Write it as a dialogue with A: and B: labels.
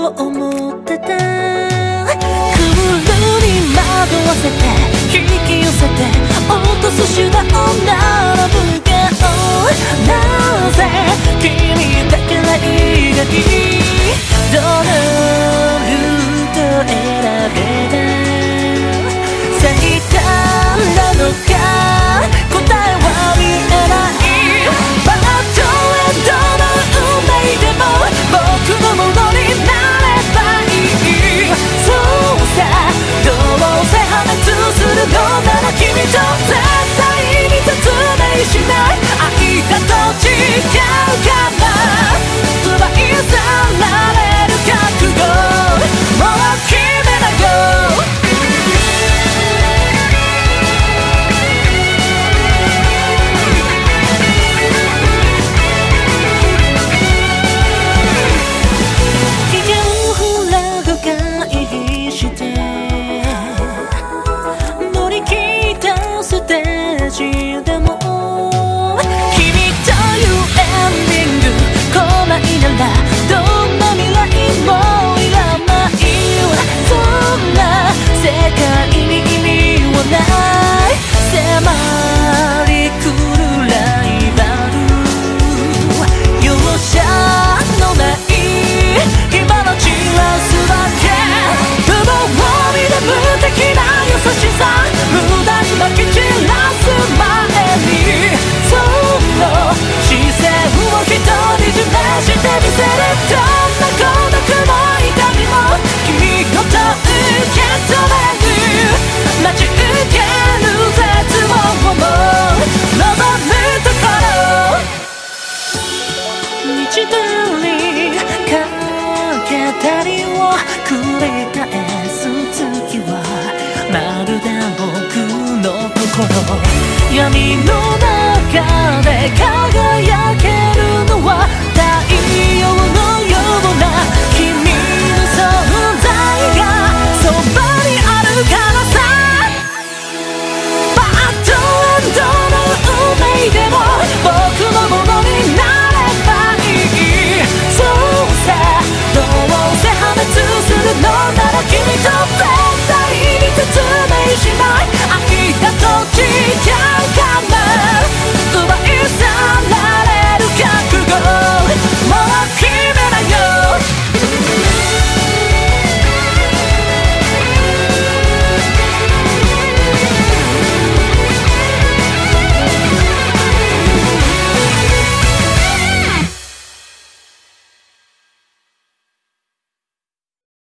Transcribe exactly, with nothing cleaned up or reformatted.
A: 思ってた。クールに惑わせて引き寄せて落とす手段を並ぶけど、なぜ君だけがいいがいい。どのルート選べば最短なのか、答えは見えない。バッドエンドの運命でも僕のものになればいい。そうさ、どうせ破滅するのなら君と絶対に説明しない。愛だと違うかな、奪い去られる覚悟もう決めなよ。ステージでも君というエンディング来ないならどんな未来もいらない。そんな世界